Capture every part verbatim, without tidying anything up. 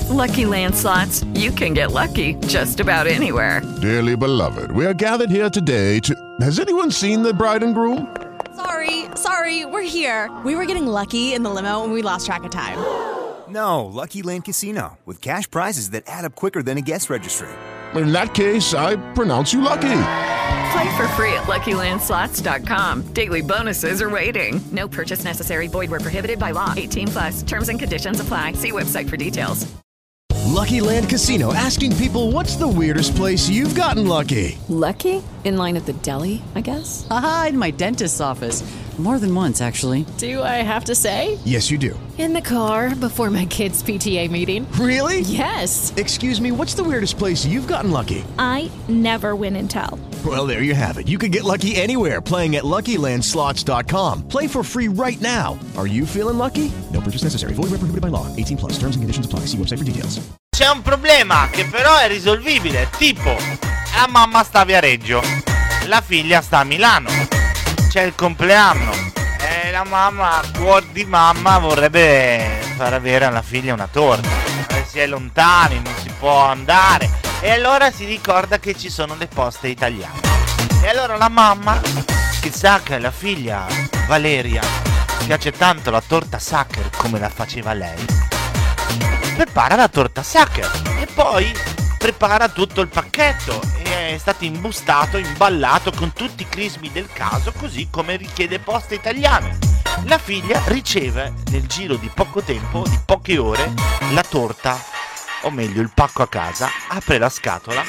Lucky Land Slots, you can get lucky just about anywhere. Dearly beloved, we are gathered here today to... Has anyone seen the bride and groom? Sorry, sorry, we're here. We were getting lucky in the limo and we lost track of time. No, Lucky Land Casino, with cash prizes that add up quicker than a guest registry. In that case, I pronounce you lucky. Play for free at Lucky Land Slots dot com. Daily bonuses are waiting. No purchase necessary. Void where prohibited by law. eighteen plus. Terms and conditions apply. See website for details. Lucky Land Casino, asking people, what's the weirdest place you've gotten lucky? Lucky? In line at the deli, I guess? Aha, in my dentist's office. More than once, actually. Do I have to say? Yes, you do. In the car before my kids' P T A meeting. Really? Yes. Excuse me, what's the weirdest place you've gotten lucky? I never win and tell. Well, there you have it. You can get lucky anywhere, playing at Lucky Land Slots dot com. Play for free right now. Are you feeling lucky? No purchase necessary. Void where prohibited by law. eighteen plus. Terms and conditions apply. See website for details. C'è un problema che però è risolvibile. Tipo, la mamma sta a Viareggio, la figlia sta a Milano. C'è il compleanno e la mamma, a cuor di mamma, vorrebbe far avere alla figlia una torta. Si è lontani, non si può andare. E allora si ricorda che ci sono le poste italiane. E allora la mamma, che sa che la figlia Valeria piace tanto la torta Sacher come la faceva lei, prepara la torta Sacher e poi prepara tutto il pacchetto. E è stato imbustato, imballato con tutti i crismi del caso, così come richiede Poste Italiane. La figlia riceve nel giro di poco tempo, di poche ore, la torta, o meglio il pacco a casa, apre la scatola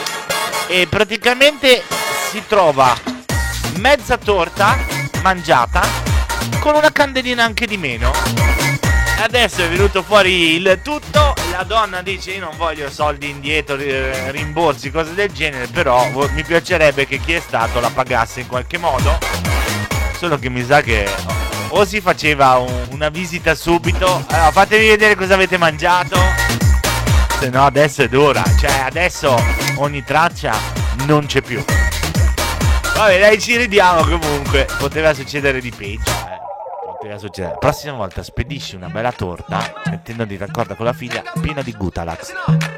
e praticamente si trova mezza torta mangiata con una candelina anche di meno. Adesso è venuto fuori il tutto. La donna dice: io non voglio soldi indietro, rimborsi, cose del genere, però mi piacerebbe che chi è stato la pagasse in qualche modo. Solo che mi sa che o si faceva un, una visita subito. Allora, fatevi vedere cosa avete mangiato, se no adesso è dura. Cioè adesso ogni traccia non c'è più. Vabbè, dai, ci ridiamo. Comunque poteva succedere di peggio, eh. Poteva succedere. La prossima volta spedisci una bella torta mettendoti d'accordo con la figlia, piena di Gutalax.